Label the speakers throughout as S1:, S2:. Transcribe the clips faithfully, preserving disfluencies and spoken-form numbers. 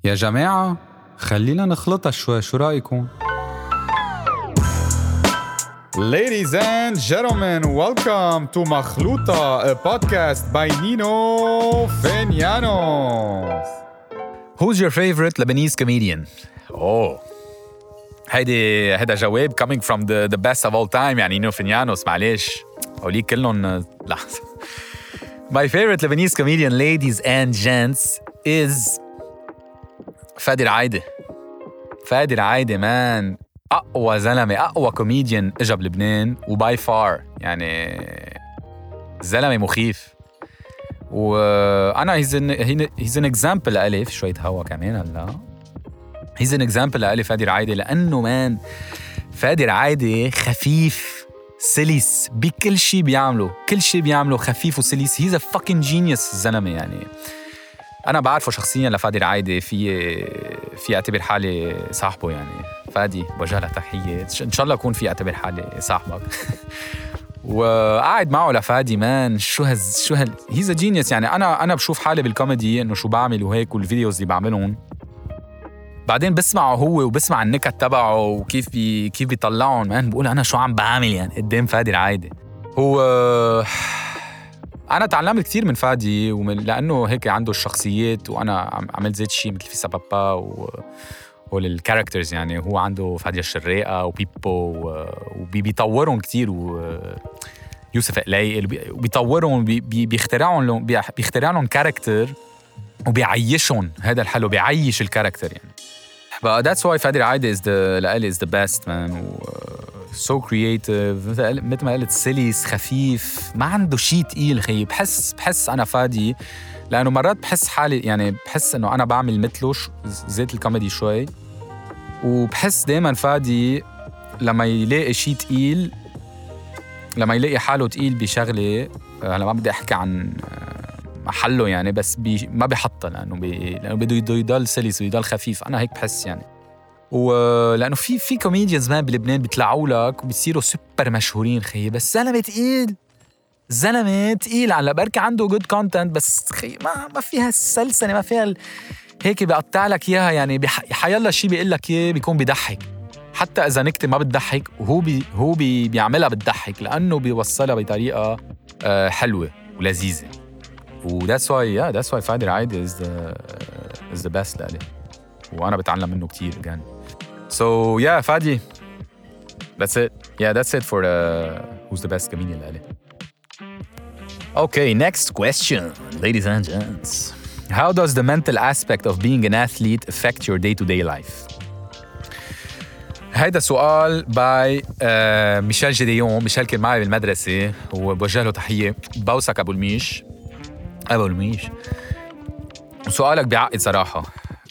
S1: يا جماعة خلينا نخلطها شوي، شو رأيكم؟
S2: Ladies and gentlemen, welcome to مخلوطة, a podcast by Nino Fenianos.
S3: Who's your favorite Lebanese comedian? Oh, هيدي هيدا جواب coming from the the best of all time. يعني نينو فينيانوس معلش أوليك كلهم لا. My favorite Lebanese comedian, ladies and gents, is فادي العايدة. فادي العايدة مان أقوى زلمة، أقوى كوميديان إجا بلبنان وباي فار. يعني زلمة مخيف. وأنا he's an, he's an example لألي في شوية هوا كمان هلا. he's an example لألي فادي العايدة، لأنه مان فادي العايدة خفيف سليس بكل شي بيعمله، كل شي بيعمله خفيف وسليس. he's a fucking genius الزلمة. يعني أنا بعرفه شخصياً لفادي العايدة، في في أعتبر حالي صاحبه. يعني فادي بوجه له تحية، إن شاء الله أكون في أعتبر حالي صاحبك. وقاعد معه لفادي مان شو هز شو هال he's a genius. يعني أنا أنا بشوف حالي بالكوميدي إنه شو بعمل وهيك والفيديوز اللي بعملهم، بعدين بسمعه هو وبسمع النكت تبعه وكيف بي كيف بيطلعهم مان، بقول أنا شو عم بعمل يعني قدام فادي العايدة. هو أنا تعلمت كتير من فادي، ومن لأنه هيك عنده الشخصيات، وأنا عملت زيت شيء مثل في سبابا و والكاركترز. يعني هو عنده فادية الشراقة وبيبو وبيطورهم كتير، ويوسف قلاي وبيطورهم، بيخترعون لهم بيخترعون كاركتر وبيعيشهم. هذا الحلو، بيعيش الكاركتر يعني. But that's why فادي العايدة is the لألي is the best man. و so creative، مثل ما قلت سليس خفيف، ما عنده شيء تقيل خي. بحس بحس أنا فادي، لأنه مرات بحس حالي يعني بحس إنه أنا بعمل مثله زيت الكوميدي شوي، وبحس دايماً فادي لما يلاقي شيء تقيل، لما يلاقي حاله تقيل بشغلة، هلا ما بدي أحكي عن محله يعني، بس بي ما بيحطها، لأنه بي لأنه بده يضل سلس ويضل خفيف. أنا هيك بحس يعني. ولأنه في في كوميديانز ما بلبنان بيطلعوا لك وبيصيروا سوبر مشهورين خي، بس زلمة تقيل، زلمة تقيل على بركة عنده good content، بس خي ما ما فيها السلسلة، ما فيها ال... هيك بيقطع لك إياها. يعني بح... حيالله شي بيقول لك إياه بيكون بيضحك، حتى إذا نكتة ما بتضحك وهو بي... هو بي... بيعملها بتضحك، لأنه بيوصلها بطريقة uh, حلوة ولذيذة. و that's why yeah that's why فادي العايدة is the uh, is the best لألي، وأنا بتعلم منه كتير again. So yeah فادي, that's it. Yeah that's it for uh, who's the best comedian لألي.
S4: Okay, next question, ladies and gents.
S3: How does the mental aspect of being an athlete affect your day-to-day life? هيدا سؤال باي آه ميشيل جديون. ميشيل كان معي بالمدرسة وبوجه له تحية. بوسك أبو الميش، أبو الميش. سؤالك بيعقد صراحة.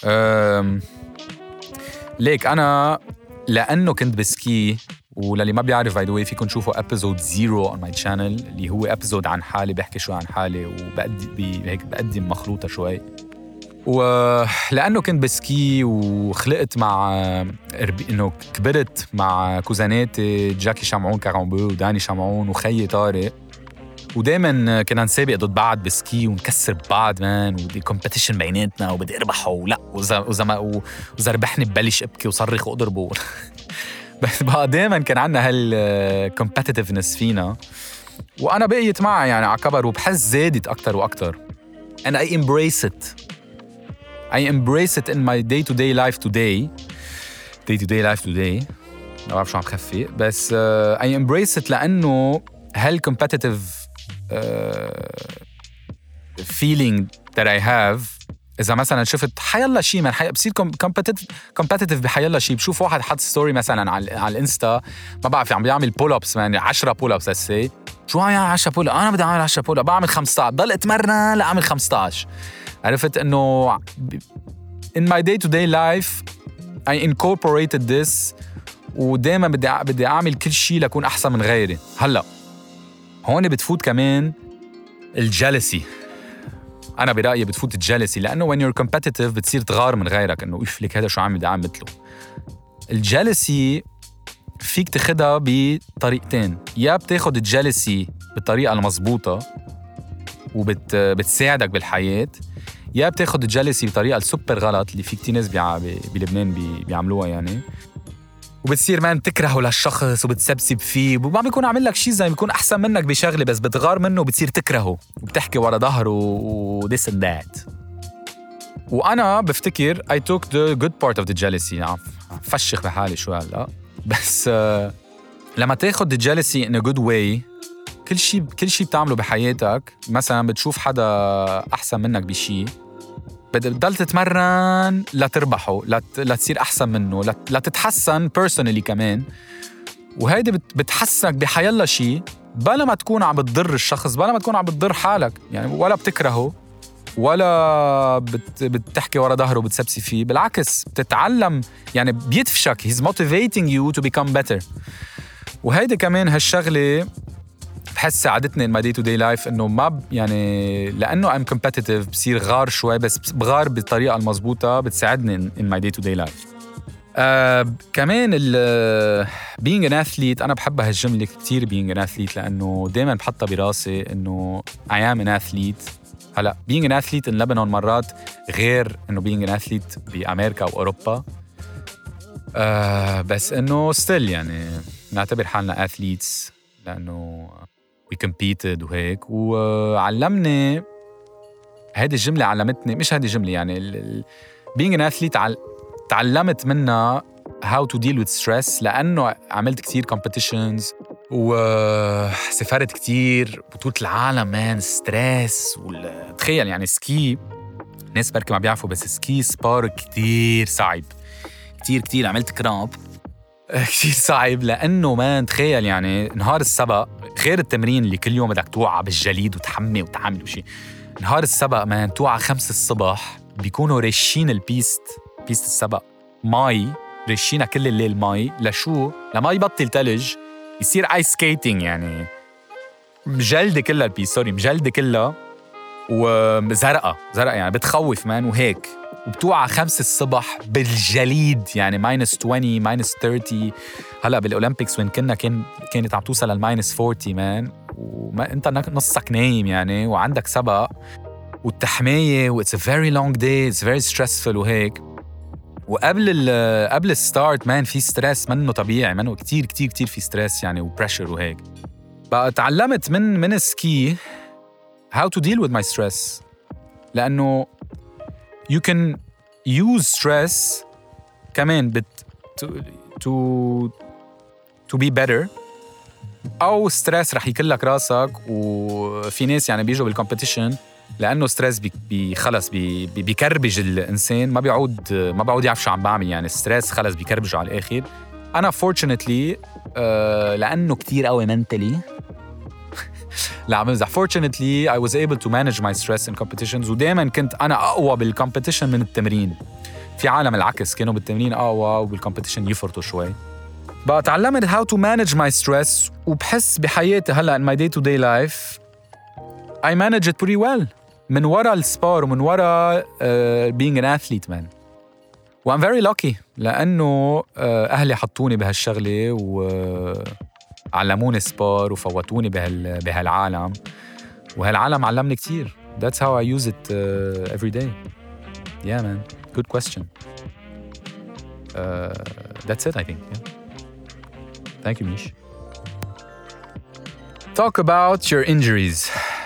S3: ليك أنا لأنه كنت بسكي، وللي ما بيعرف باي ذا واي فيكم تشوفوا ابيزود زيرو on my channel، اللي هو ابيزود عن حالي، بحكي شوي عن حالي وبقدم هيك بقدم مخلوطة شوي. ولأنه كنت بسكي وخلقت مع إنه كبرت مع كوزاناتي جاكي شمعون كارامبو وداني شمعون وخيي طارق، ودايما كنا نسابق ضد بعض بسكي ونكسر بعض مان، ودي كومبيتيشن بيناتنا وبدي اربحه ولا وزما وإذا ربحني ببلش ابكي وصرخ واضربه. بس بقى دايما كان عنا هالكومبيتيتيفنس فينا، وانا بقيت معها يعني على كبر، وبحس زادت اكتر واكتر. and I embrace it I embrace it in my day to day life today day to day life today ما بعرف شو عم خفي، بس uh, I embrace it لأنه هالcompetitive uh, feeling that I have. إذا مثلاً شفت حيالله شيء من حي... بصير competitive competitive بحيالله شيء. بشوف واحد حط ستوري مثلاً على على الانستا، ما بعرف عم بيعمل pull ups يعني عشرة pull ups let's say. شو يعني عشرة pull up؟ أنا بدي أعمل عشرة pull up، بعمل خمسة عشر، ضل اتمرن لأعمل خمسة عشر. عرفت إنه in my day to day life I incorporated this، ودائما بدي بدي أعمل كل شيء لأكون أحسن من غيري. هلا هون بتفوت كمان الجالسي. أنا برأيي بتفوت الجالسي، لأنه when you're competitive بتصير تغار من غيرك، إنه إف لك هذا شو عم بدي أعمل مثله. الجالسي فيك تاخدها بطريقتين، يا بتاخد الجالسي بالطريقة المضبوطة وبتساعدك بالحياة، يا بتاخد الجلسي بطريقة السوبر غلط اللي في كتير ناس بيع... بلبنان بي... بيعملوها يعني، وبتصير مان تكرهه للشخص وبتسبسب فيه وما بيكون عامل لك شيء زي بيكون أحسن منك بشغلة، بس بتغار منه وبتصير تكرهه وبتحكي ورا ظهره و this and that. وأنا بفتكر I took the good part of the jealousy. يعني فشخ بحالي شو هلا، بس uh, لما تاخد the jealousy in a good way، كل شيء كل شيء بتعمله بحياتك، مثلا بتشوف حدا أحسن منك بشيء، بتضل تتمرن لتربحه، لت... لتصير أحسن منه، لت... لتتحسن personally كمان، وهيدي بت... بتحسنك بحيالله شيء، بلا ما تكون عم بتضر الشخص، بلا ما تكون عم بتضر حالك يعني، ولا بتكرهه ولا بت... بتحكي ورا ظهره وبتسبسي فيه، بالعكس بتتعلم يعني، بيدفشك. he's motivating you to become better. وهيدي كمان هالشغلة بحس ساعدتني in my day to day life، إنه ما ب... يعني لأنه I'm competitive بصير غار شوي، بس بغار بالطريقة المضبوطة بتساعدني in my day to day life. آه كمان ال being an athlete، أنا بحب هالجملة كتير being an athlete، لأنه دايماً بحطها براسي إنه I am an athlete. هلأ being an athlete in Lebanon مرات غير إنه being an athlete بأمريكا وأوروبا، آه بس إنه still يعني نعتبر حالنا athletes لأنه we competed وهيك. وعلمني هذه الجملة، علمتني مش هذه الجملة يعني ال ال being an athlete عل... تعلمت منها how to deal with stress، لأنه عملت كتير competitions وسافرت كتير بطولة العالم مان ستريس. وال... تخيل يعني سكي، ناس بركي ما بيعرفوا بس سكي سبار كتير صعب، كتير كتير عملت كرامب كتير صعب، لأنه ما تخيل يعني نهار السبق غير التمرين اللي كل يوم بدك توعى بالجليد وتحمي وتعمل وشي، نهار السبق ما توعى خمس الصبح بيكونوا رشين البيست، بيست السبق ماي، رشينا كل الليل ماي، لشو؟ لما يبطل تلج يصير ايس سكيتينج يعني، مجلدة كلها البيست، سوري مجلدة كلها وزرقة زرقة يعني بتخوف مان، وهيك وبتوعى خمس الصبح بالجليد يعني ماينس عشرين ماينس ثلاثين. هلا بالاولمبيكس وين كنا كان كانت عم توصل للماينس أربعين مان، وما انت نصك نايم يعني، وعندك سبق والتحمايه و it's a very long day, it's very stressful وهيك. وقبل ال قبل الستارت مان في ستريس منه طبيعي، منه كتير كتير كتير في ستريس يعني وبريشر وهيك. بقى تعلمت من من السكي how to deal with my stress، لأنه you can use stress كمان بت to to to be better، أو ستريس رح يكلك راسك. وفي ناس يعني بيجوا بالكومبيتيشن لأنه ستريس بي بي خلص بي بي بيكربج الإنسان، ما بيعود ما بعود يعرف شو عم بعمل يعني، ستريس خلص بيكربجه على الآخر. أنا fortunately uh, لأنه كتير قوي mentally لا عم بمزح، fortunately I was able to manage my stress in competitions، ودايما كنت أنا أقوى بالcompetition من التمرين. في عالم العكس كانوا بالتمرين أقوى وبالcompetition يفرطوا شوي. بقى تعلمت how to manage my stress، وبحس بحياتي هلأ in my day to day life I manage it pretty well من وراء السبار ومن وراء uh, being an athlete man. و I'm very lucky لأنه uh, أهلي حطوني بهالشغلة وعلموني سبار وفوتوني بهال بهالعالم، وهالعالم علمني كتير. That's how I use it uh, every day. Yeah man, good question. Uh, that's it I think. Yeah. Thank you Mish. Talk about your injuries.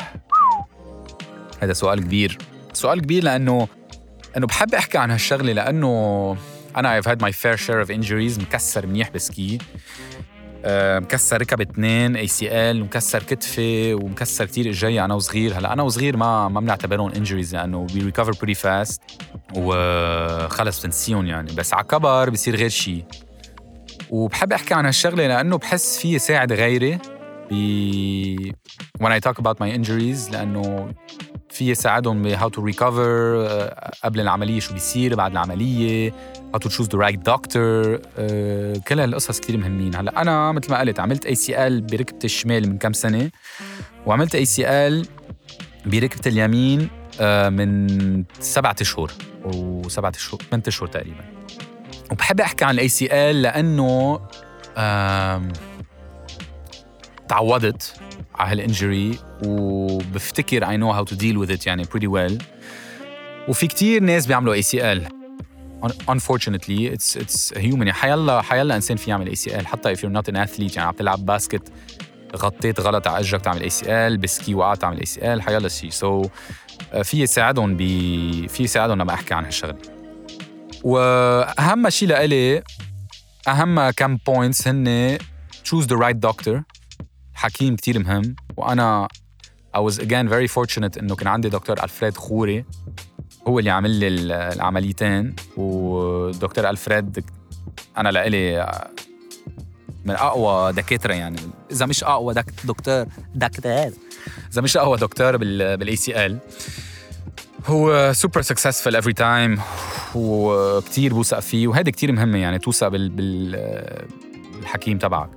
S3: هذا سؤال كبير، سؤال كبير لأنه أنه بحب أحكي عن هالشغلة، لأنه أنا I've had my fair share of injuries. مكسر منيح بسكي، أه مكسر ركب اتنين إيه سي إل، ومكسر كتفي، ومكسر كتير إجاي أنا وصغير. هلأ أنا وصغير ما ما بنعتبرون injuries لأنه we recover pretty fast وخلص بنسيون يعني، بس على كبر بيصير غير شيء. وبحب أحكي عن هالشغلة لأنه بحس فيه ساعد غيري ب when I talk about my injuries، لأنه فيه ساعدهم ب how to recover قبل العملية، شو بيصير بعد العملية، how to choose the right doctor. كل هالقصص كتير مهمين. هلأ أنا مثل ما قلت عملت إيه سي إل بركبة الشمال من كم سنة، وعملت إيه سي إل بركبة اليمين من سبعة أشهر وسبعة أشهر ثمانية أشهر تقريباً. وبحب أحكي عن الإيه سي إل لأنه تعودت على هالإنجري، وبفتكر I know how to deal with it يعني pretty well. وفي كتير ناس بيعملوا إيه سي إل. unfortunately it's it's human. حيلا حيلا إنسان في يعمل إيه سي إل حتى if you're not an athlete. يعني عم تلعب باسكت غطيت غلط على اجرك تعمل إيه سي إل، بسكي وقعت تعمل إيه سي إل، حيلا شيء. سو so, في يساعدهم ب في يساعدهم لما احكي عن هالشغله. واهم شيء لإلي اهم كم بوينتس هن choose the right doctor. حكيم كتير مهم. وانا I was again very fortunate انه كان عندي دكتور ألفريد خوري هو اللي عمل لي العمليتين. ودكتور ألفريد انا لإلي من اقوى دكاتره، يعني اذا مش اقوى دك... دكتور دكتور اذا مش اقوى دكتور بال بالاي سي ال. هو سوبر سكسسفل افري تايم وكتير بوثق فيه، وهذا كتير مهمه يعني توثق بال... بال... بالحكيم تبعك.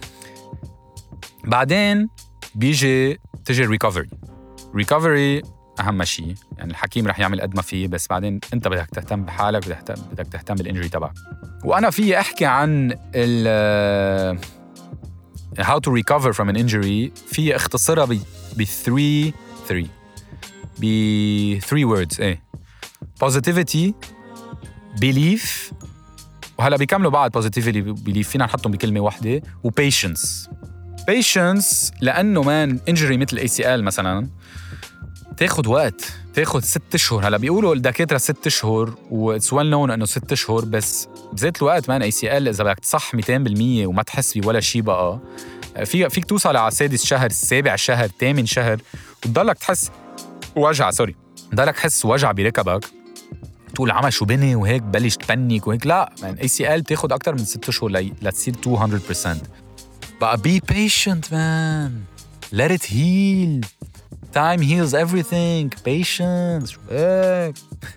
S3: بعدين بيجي تجي الريكفري. ريكفري اهم شيء، يعني الحكيم رح يعمل قد ما فيه، بس بعدين انت بدك تهتم بحالك، بدك تهتم بدك تهتم بالانجري تبعك. وانا في احكي عن ال how to recover from an injury في اختصارها ب ب three three ب three words. ايه positivity belief، وهلا بيكملوا بعض positivity belief فينا نحطهم بكلمه واحده، و patience. patience لانه مان injury مثل إيه سي إل مثلا تاخد وقت، تاخد ست اشهر. هلا بيقولوا الدكاتره ست اشهر واتس ويل نون انه ست اشهر، بس بذات الوقت مان إيه سي إل اذا بدك تصح مئتين بالمية وما تحس بولا شيء بقى في فيك توصل على سادس شهر، سابع شهر، ثامن شهر وتضلك تحس وجع سوري تضلك تحس وجع بركبك، تقول عمل شو بني وهيك بلش تبنك وهيك. لا مان إيه سي إل بتاخد اكثر من ست اشهر لي لتصير مئة بالمية. بقى be patient man, let it heal. Time heals everything. Patience. هيك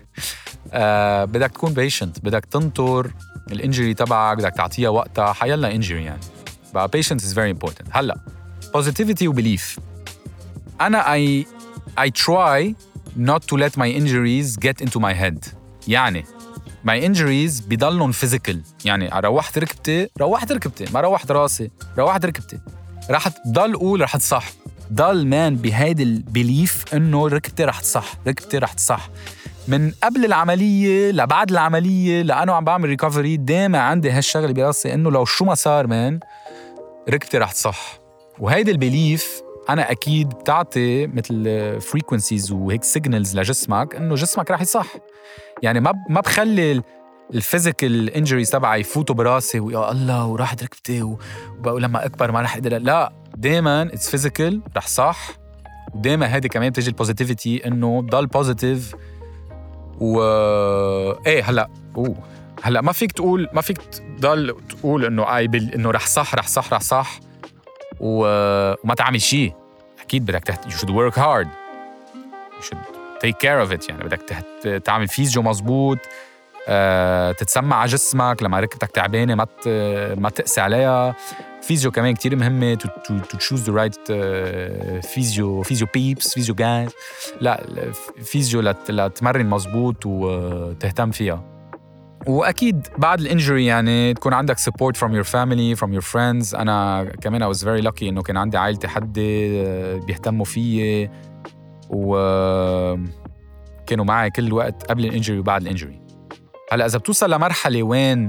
S3: آه بدك تكون patient، بدك تنطر الانجري تبعك، بدك تعطيها وقتها. حيلا انجري يعني بقى patience is very important. هلا positivity و belief. أنا I I try not to let my injuries get into my head. يعني my injuries بيضلن physical. يعني روحت ركبتي روحت ركبتي ما روحت راسي روحت ركبتي، رح تضل قول رح تصح. ضل مان بهيدا البليف انه ركبتي رح تصح، ركبتي رح تصح من قبل العمليه لبعد العمليه. لانه عم بعمل ريكفري دايما عندي هالشغله براسي انه لو شو ما صار مان ركبتي رح تصح. وهيدا البليف انا اكيد بتعطي مثل فريكونسيز وهيك سيجنالز لجسمك انه جسمك رح يصح. يعني ما ما بخلي الفيزيكال انجريز تبعي يفوتوا براسي ويا الله وراحت ركبتي وبقول لما اكبر ما رح اقدر. لا دايما اتس فيزيكال رح صح. ودايما هذه كمان بتجي البوزيتيفيتي انه ضل بوزيتيف. و ايه هلا اوه هلا ما فيك تقول ما فيك تضل تقول انه اي بال... انه رح صح رح صح رح صح و... وما تعمل شيء. اكيد بدك تحت... you should work hard, you should take care of it. يعني بدك تحت... تعمل فيزيو مزبوط، أه... تتسمع على جسمك لما ركبتك تعبانه ما ت... ما تقسي عليها. فيزيو كمان كتير مهمه to, to, to choose the right uh, فيزيو فيزيو بيبس فيزيو جايز. لا فيزيو لت... لتمرن مزبوط وتهتم فيها. واكيد بعد الانجري يعني تكون عندك support from your family from your friends. انا كمان I was very lucky انه كان عندي عائلتي حدي بيهتموا فيي وكانوا معي كل الوقت قبل الانجري وبعد الانجري. هلا اذا بتوصل لمرحله وين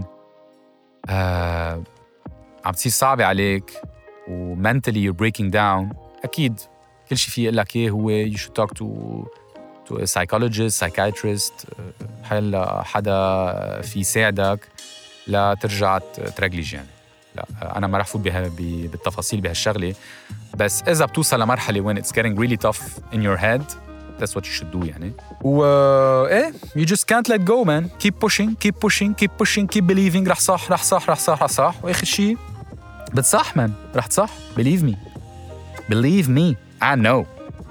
S3: آه عم تصير صعبه عليك و mentally you're breaking down، اكيد كل شيء فيه يقول لك ايه هو you should talk to to a psychologist, psychiatrist، حيلا حدا في يساعدك لا ترجع ترجلج. يعني لا أنا ما رح فوت بها بالتفاصيل بهالشغلة، بس إذا بتوصل لمرحلة when it's getting really tough in your head that's what you should do. يعني و إيه you just can't let go man. keep pushing keep pushing keep pushing keep believing. رح صح رح صح رح صح رح صح وآخر شيء بتصح man. رح تصح believe me believe me I know.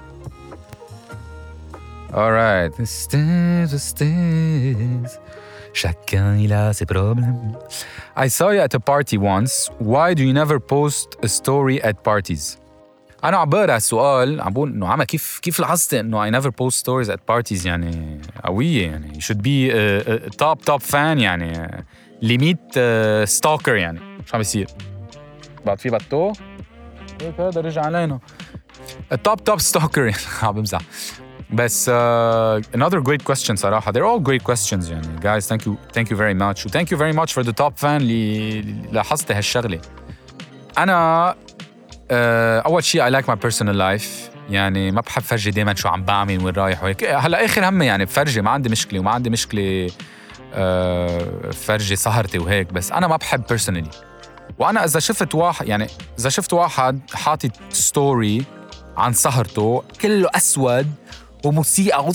S3: Alright. Stairs, stairs. Chacun il a ses problèmes. I saw you at a party once. Why do you never post a story at parties? أنا عم بقرأ السؤال عم بقول إنه عما كيف كيف لاحظت إنه I never post stories at parties. يعني قوية يعني you should be a, a top top fan يعني ليميت uh, stalker. يعني شو عم بيصير بعد في بطو هيك هذا رجع علينا a top top stalker. عم بمزح. بس uh, another great question صراحة. They're all great questions يعني. Guys, thank you, thank you very much. Thank you very much for the top fan اللي لاحظت هالشغلة. أنا uh, أول شيء I like my personal life. يعني ما بحب فرجي دايما شو عم بعمل وين رايح وهيك. هلا آخر همي يعني بفرجي، ما عندي مشكلة وما عندي مشكلة uh, فرجي سهرتي وهيك. بس أنا ما بحب personally. وأنا إذا شفت واحد يعني إذا شفت واحد حاطط ستوري عن سهرته كله أسود وموسيقى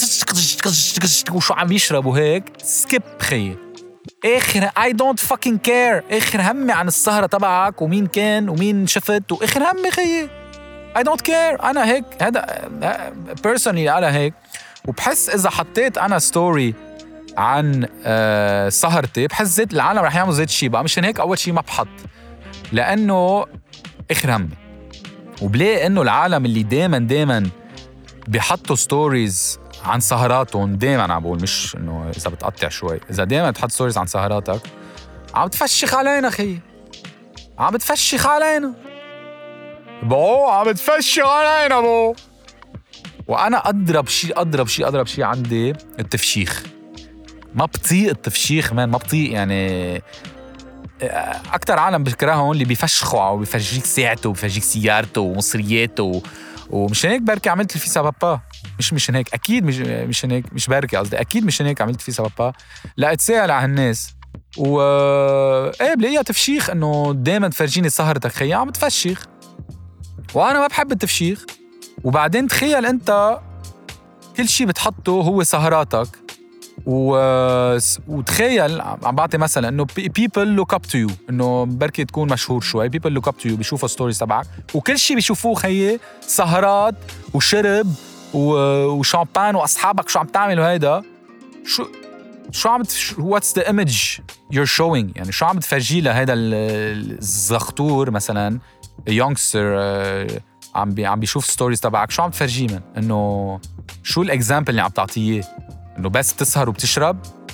S3: وشو عم يشرب وهيك، سكيب خي. آخر I don't fucking care. آخر همي عن السهرة تبعك ومين كان ومين شفت، وآخر همي خي I don't care. أنا هيك هذا personally أنا هيك. وبحس إذا حطيت أنا ستوري عن آه سهرتي بحس زيت العالم رح يعملوا زيت شي بقى. مشان هيك أول شي ما بحط، لأنه آخر همي. وبلاقي إنه العالم اللي دايماً دايماً بيحطوا ستوريز عن سهراتهم، دايماً عم بقول مش إنه إذا بتقطع شوي، إذا دايماً تحط ستوريز عن سهراتك عم تفشخ علينا خي، عم تفشخ علينا بو، عم تفشخ علينا بو. وأنا أضرب شيء أضرب شيء أضرب شيء عندي التفشيخ. ما بطيق التفشيخ مان، ما بطيق يعني. أكتر عالم بكرههم اللي بيفشخوا أو بيفرجيك ساعته وبيفرجيك سيارته ومصرياته. ومشان هيك بركي عملت الفيسا بابا. مش مشان هيك أكيد مش مشان هيك مش بركي قصدي أكيد مشان هيك عملت فيسا بابا، لا أتساءل على هالناس. و إيه بلاقيها تفشيخ إنه دايما تفرجيني سهرتك خي، عم تفشيخ وأنا ما بحب التفشيخ. وبعدين تخيل أنت كل شي بتحطه هو سهراتك. و... وتخيل عم بعطي مثلا انه people look up to you، انه بركي تكون مشهور شوي، people look up to you بيشوفوا ستوريز تبعك وكل شيء بيشوفوه خيي سهرات وشرب و... وشامبان واصحابك شو عم تعمل. وهيدا شو شو عم تف... what's the image you're showing؟ يعني شو عم تفرجي له هيدا الزغطور مثلا youngster عم بي... عم بيشوف ستوريز تبعك، شو عم تفرجيه من انه شو الاكزامبل اللي عم تعطيه؟ انه بس تسهر وبتشرب؟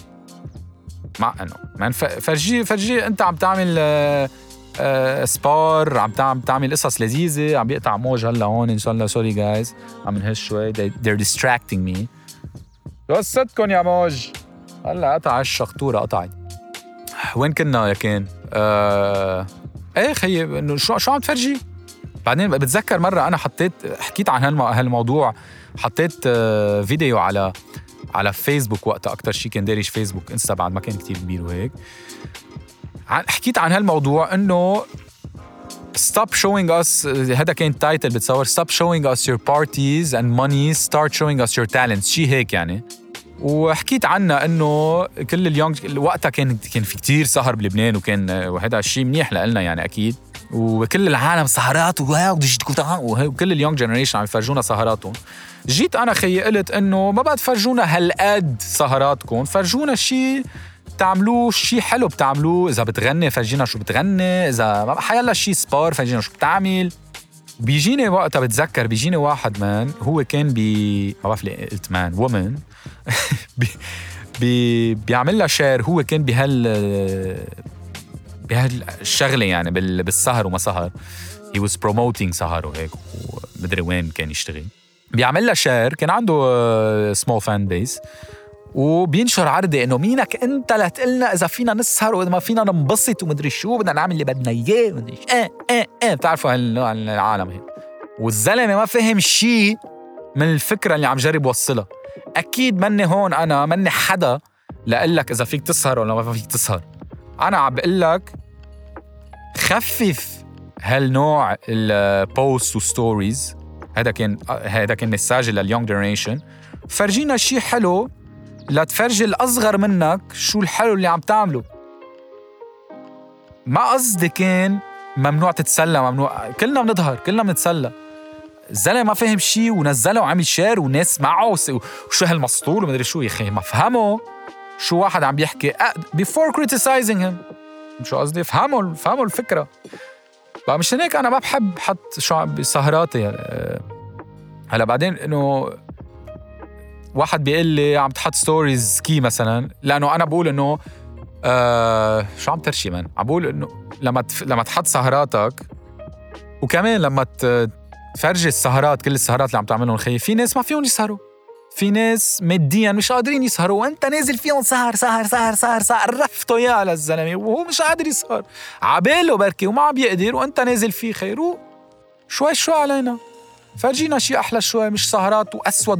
S3: مع انه مان فرجي فرجي انت عم تعمل آه آه سبار، عم تعمل تعمل قصص لذيذه. عم بيقطع موج هلا هون ان شاء الله. سوري جايز عم نهش شوي، they're distracting me. قصتكم يا موج. هلا قطع الشخطوره قطعت. وين كنا يا كان؟ آه ايه خيي انه شو شو عم تفرجي؟ بعدين بتذكر مره انا حطيت حكيت عن هالموضوع، حطيت آه فيديو على على فيسبوك وقتها. أكتر شيء كان دارج فيسبوك، إنستا بعد ما كان كتير كبير وهيك. حكيت عن هالموضوع إنه stop showing us، هذا كان تايتل بتصور stop showing us your parties and money, start showing us your talents، شيء هيك يعني. وحكيت عنها إنه كل اليونج وقتها كان كان في كتير سهر بلبنان، وكان وهذا الشيء منيح لنا يعني أكيد. وكل العالم سهرات وكل اليونج جنريشن عم يفرجونا سهراتهم. جيت أنا خيي قلت إنه ما بعد فرجونا هالقد سهراتكم، فرجونا شيء تعملوه، شيء حلو بتعملوه. إذا بتغني فرجينا شو بتغني، إذا حيلا شيء سبار فرجينا شو بتعمل. بيجيني وقتها بتذكر بيجيني واحد مان هو كان بي ما بعرف ليه قلت مان وومن بي... بي... بيعمل لها شير. هو كان بهال بهالشغلة يعني بال... بالسهر وما سهر. he was promoting سهر وهيك ومدري وين كان يشتغل. بيعمل لها شير، كان عنده سمول فان بيس، وبينشر عرضي انه مينك انت لتقلنا اذا فينا نسهر واذا ما فينا ننبسط ومدري شو بدنا نعمل اللي بدنا اياه ومدري ايه ايه ايه بتعرفوا هالعالم هيك. والزلمه ما فهم شيء من الفكره اللي عم جرب وصلها. اكيد مني هون انا مني حدا لاقول لك اذا فيك تسهر ولا ما فيك تسهر. انا عم بقول لك خفف هالنوع البوست وستوريز. هذا كان هذا كان مساج لليونج جنريشن. فرجينا شيء حلو لا تفرجي الأصغر منك شو الحلو اللي عم تعمله. ما قصدي كان ممنوع تتسلى، ممنوع، كلنا بنظهر كلنا بنتسلى. الزلمة ما فهم شيء ونزله وعمل شير وناس معه وشو هالمسطول ومدري شو. يا أخي ما فهموا شو واحد عم بيحكي before criticizing him. شو قصدي؟ فهموا فهموا الفكرة. بقى مش هيك أنا ما بحب حط شو بسهراتي. هلا بعدين إنه واحد بيقول لي عم تحط ستوريز كي مثلا، لأنه أنا بقول إنه آه شو عم ترشي من عم بقول إنه لما تف... لما تحط سهراتك، وكمان لما تفرجي السهرات كل السهرات اللي عم تعملهم خي، في ناس ما فيهم يسهروا، في ناس ماديا مش قادرين يسهروا وانت نازل فيهم سهر سهر سهر سهر سهر رفته يا للزلمه وهو مش قادر يسهر عباله بركي وما عم يقدر وانت نازل فيه خيرو شوي شوي علينا فرجينا شيء احلى شوي مش سهرات واسود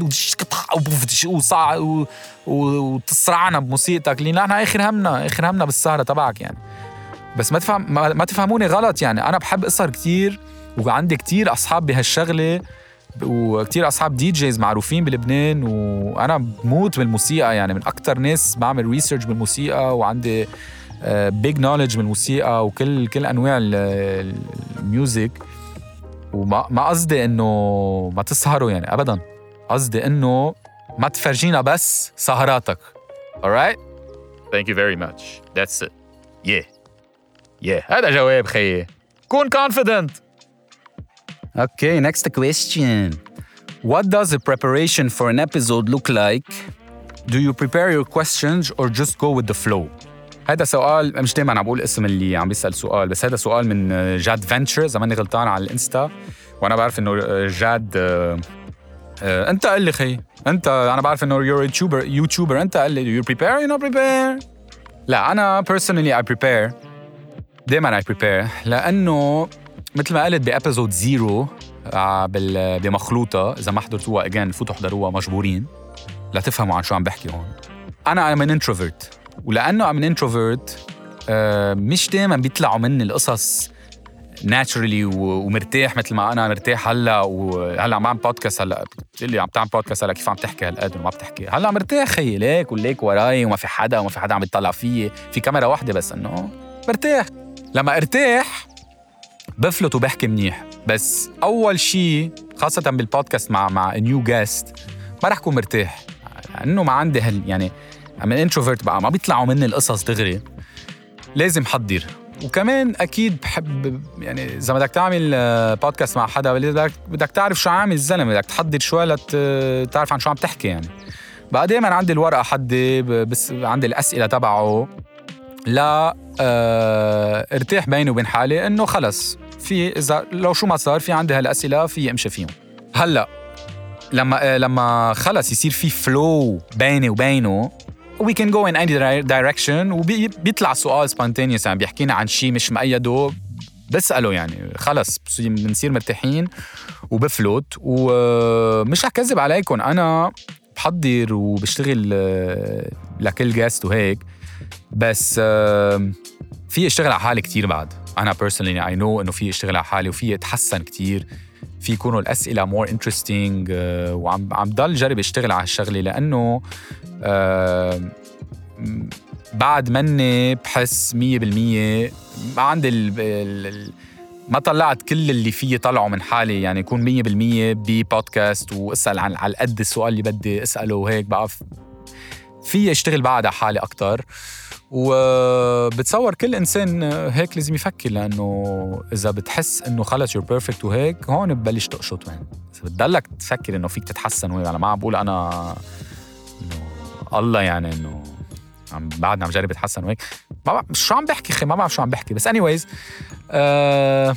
S3: وصع وتصرعنا بموسيقتك لان احنا اخر همنا اخر همنا بالسهره تبعك يعني. بس ما تفهم ما, ما تفهموني غلط يعني انا بحب اسهر كتير وعندي كتير اصحاب بهالشغله وكتير أصحاب دي جيز معروفين بلبنان وأنا بموت بالموسيقى يعني من أكتر ناس بعمل ريسيرش بالموسيقى وعندي بيج نوليدج بالموسيقى وكل كل أنواع الميوزك وما ما قصدي إنه ما تسهروا يعني أبداً قصدي إنه ما تفرجينا بس سهراتك. alright thank you very much that's it yeah yeah هذا جواب خيي كون confident.
S4: Okay, next question.
S3: What does the preparation for an episode look like? Do you prepare your questions or just go with the flow? هذا سؤال مش دايما عم بقول اسم اللي عم بيسأل سؤال بس هذا سؤال من جاد فينتشر زماني غلطان على الانستا وانا بعرف انه جاد آه آه انت قل لي خي انت انا بعرف انه you're a YouTuber يوتيوبر انت قل لي do you prepare you not prepare. لا انا personally I prepare دايما I prepare لانه مثل ما قلت بأبيزود زيرو بمخلوطة إذا ما حضرتوها again فوتوا حضروها مجبورين لا تفهموا عن شو عم بحكي هون. أنا I'm an introvert ولأنه I'm an introvert آه مش دايما بيطلعوا مني القصص naturally ومرتاح مثل ما أنا مرتاح هلا وهلا عم بعمل بودكاست هلا بتقلي عم تعمل بودكاست هلا كيف عم تحكي هالقد وما بتحكي هلا مرتاح خيي ليك وليك وراي وما في حدا وما في حدا عم يطلع فيي في كاميرا واحدة بس إنه مرتاح. لما ارتاح بفلت وبحكي منيح بس أول شي خاصة بالبودكاست مع مع نيو جاست ما رح كون مرتاح لأنه ما عندي هال يعني من انتروفيرت بقى ما بيطلعوا مني القصص دغري لازم حضر. وكمان أكيد بحب يعني إذا بدك تعمل بودكاست مع حدا بدك بدك تعرف شو عامل الزلمة بدك تحضر شوي لتعرف عن شو عم تحكي يعني. بقى دايما عندي الورقة حدي بس عندي الأسئلة تبعه لا اه ارتاح بيني وبين حالي إنه خلص في إذا لو شو ما صار في عندي هالأسئلة في أمشي فيهم. هلأ لما لما خلص يصير في flow بيني وبينه we can go in any direction وبيطلع سؤال spontaneous يعني بيحكينا عن شيء مش مقيده بسأله يعني خلص بنصير مرتاحين وبفلوت. ومش رح كذب عليكم أنا بحضر وبشتغل لكل جاست وهيك بس في اشتغل على حالي كتير بعد. أنا personally I know إنه في اشتغل على حالي وفي اتحسن كتير في يكونوا الأسئلة more interesting وعم عم ضل جرب اشتغل على الشغلة لأنه بعد مني بحس مية بالمية ما عندي ال ال ما طلعت كل اللي فيه طلعوا من حالي يعني يكون مية بالمية ببودكاست واسأل عن على قد السؤال اللي بدي اسأله وهيك بقى في اشتغل بعد على حالي أكتر. وبتصور كل إنسان هيك لازم يفكر لأنه إذا بتحس إنه خلص you're perfect وهيك هون ببلش تقشط وين إذا بتضلك تفكر إنه فيك تتحسن وهيك. أنا ما عم بقول أنا إنه الله يعني إنه عم بعدنا عم جرب أتحسن وهيك ما بعرف شو عم بحكي خي ما بعرف شو عم بحكي بس anyways uh,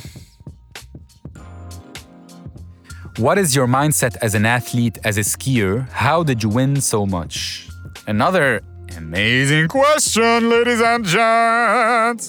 S3: what is your mindset as an athlete as a skier how did you win so much. Another amazing question, ladies and gents.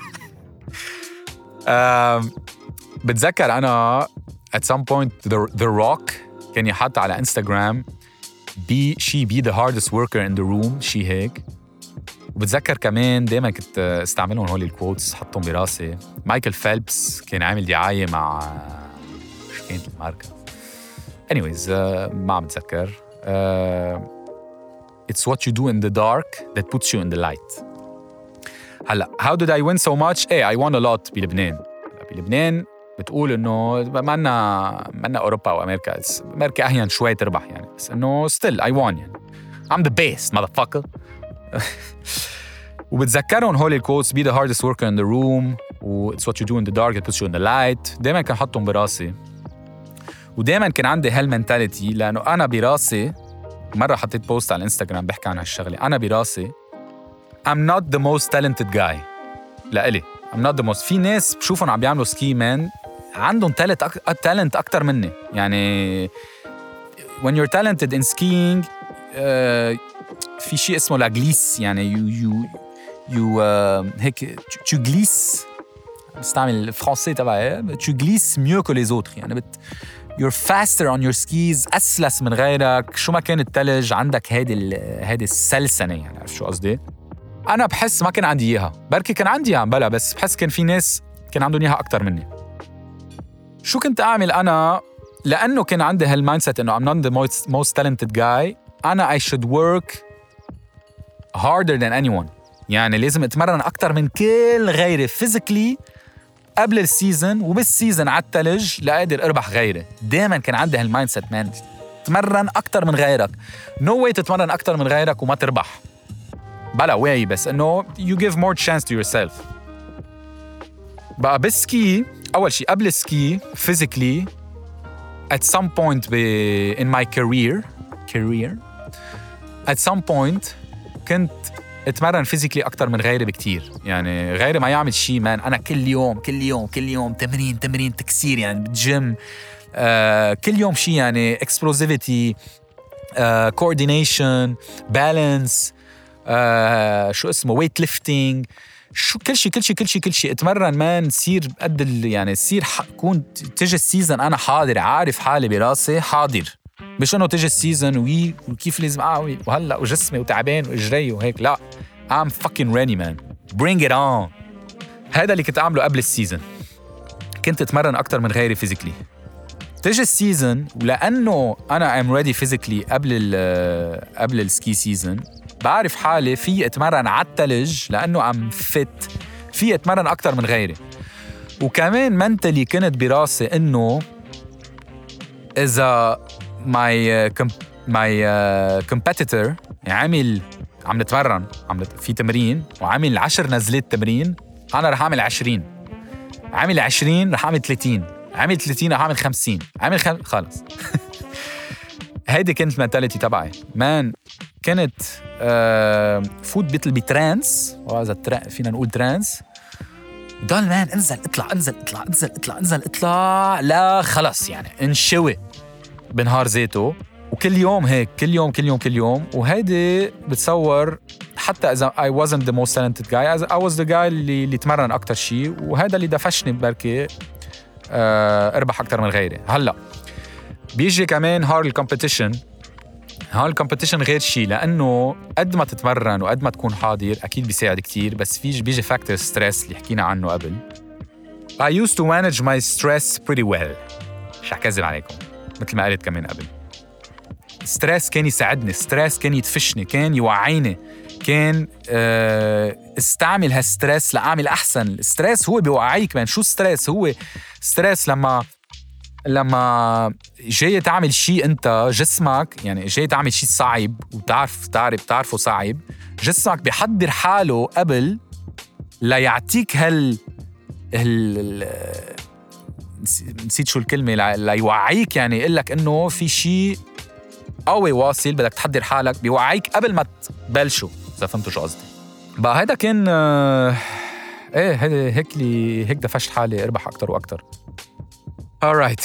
S3: um, بتذكر أنا at some point the, the Rock كان يحط على إنستغرام be she be the hardest worker in the room شي هيك. وبتذكر كمان دايما كنت استعملهم هول الكوتس حطهم براسي. مايكل فيلبس كان عامل دعاية مع شو كانت الماركة anyways uh, ما عم بتذكر uh, It's what you do in the dark that puts you in the light. هلا how did I win so much? Hey, I won a lot بلبنان. بلبنان بتقول إنه ما لنا ما لنا أوروبا أو أمريكا. أمريكا أحيانا شوي تربح يعني بس إنه still I won يعني. I'm the best motherfucker. وبتذكرون هول الكوتس be the hardest worker in the room و it's what you do in the dark that puts you in the light. دايما كان حطهم براسي ودايما كان عندي هالمنتاليتي لأنه أنا براسي مرة حطيت بوست على الانستغرام بحكي عن هالشغلة. أنا براسي I'm not the most talented guy لإلي I'm not the most. في ناس بشوفهم عم بيعملوا سكي مان عندهم تالنت أك... تالنت أكتر مني يعني when you're talented in skiing uh, في شيء اسمه لا glisse يعني you you you uh, هيك tu glisses بستعمل الفرنسي تبعي tu glisses mieux que les autres يعني بت you're faster on your skis أسلس من غيرك شو ما كان التلج عندك هيدي هيدي السلسنة يعني عرفت شو قصدي؟ أنا بحس ما كان عندي إياها بركي كان عندي إياها بلا بس بحس كان في ناس كان عندهم إياها أكتر مني. شو كنت أعمل أنا؟ لأنه كان عندي هالمايندسيت إنه I'm not the most, most talented guy أنا I should work harder than anyone يعني لازم أتمرن أكتر من كل غيري physically قبل السيزن وبالسيزن على التلج لأقدر أربح غيري. دايماً كان عندي هالمايندسيت مان تتمرن أكتر من غيرك no way تتمرن أكتر من غيرك وما تربح بلا واي بس إنه you give more chance to yourself. بقى بالسكي أول شيء قبل السكي physically at some point be in my career career at some point كنت اتمرن فيزيكلي اكتر من غيري بكتير يعني غيري ما يعمل شيء مان انا كل يوم كل يوم كل يوم تمرين تمرين تكسير يعني بالجيم آه كل يوم شيء يعني explosivity آه coordination balance آه شو اسمه weight lifting شو كل شيء كل شيء كل شيء كل شيء اتمرن مان تصير قد يعني تصير كون تجي السيزن انا حاضر عارف حالي براسي حاضر مش انه تجي السيزن وي وكيف لازم اعوي وهلا وجسمي وتعبان واجري وهيك لا I'm fucking ready man bring it on. هذا اللي كنت اعمله قبل السيزن كنت اتمرن اكتر من غيري فيزيكلي. تجي السيزن ولانه انا I'm ready physically قبل ال قبل السكي سيزن بعرف حالي في اتمرن على التلج لانه I'm fit في اتمرن اكتر من غيري. وكمان منتلي كنت براسي انه اذا my uh, com- my uh, competitor عامل عم نتمرن عم نت... في تمرين وعامل عشر نزلات تمرين انا رح اعمل عشرين عامل عشرين رح اعمل ثلاثين عامل ثلاثين رح اعمل خمسين عامل خم... خلص هيدي كانت المنتاليتي تبعي مان. كانت uh, فوت بيطل بترانس وهذا ترا... فينا نقول ترانس ضل مان انزل اطلع انزل اطلع انزل اطلع انزل اطلع لا خلص يعني انشوي بنهار ذاته وكل يوم هيك كل يوم كل يوم كل يوم. وهيدي بتصور حتى إذا I wasn't the most talented guy I was the guy اللي, اللي تمرن أكتر شيء وهذا اللي دفشني بركي أه أربح أكتر من غيري. هلأ بيجي كمان هار الكومبيتيشن هار الكومبيتيشن غير شيء لأنه قد ما تتمرن وقد ما تكون حاضر أكيد بيساعد كتير بس فيش بيجي فاكتور ستريس اللي حكينا عنه قبل. I used to manage my stress pretty well مش هكذب عليكم مثل ما قلت كمان قبل. ستريس كان يساعدني ستريس كان يدفشني كان يوعيني كان أه استعمل هالستريس لأعمل أحسن. الستريس هو بيوعيك من شو ستريس هو ستريس لما لما جاي تعمل شيء أنت جسمك يعني جاي تعمل شيء صعب وتعرف تعرف تعرفه صعب جسمك بيحضر حاله قبل لا يعطيك هال هال نسيت شو الكلمة لا يوعيك يعني يقول لك إنه في شيء قوي واصل بدك تحضر حالك بيوعيك قبل ما تبلشوا إذا فهمتوا شو قصدي. بقى هيدا كان آه إيه هيدا هيك لي هيك دفشت حالي أربح أكتر وأكتر. Alright.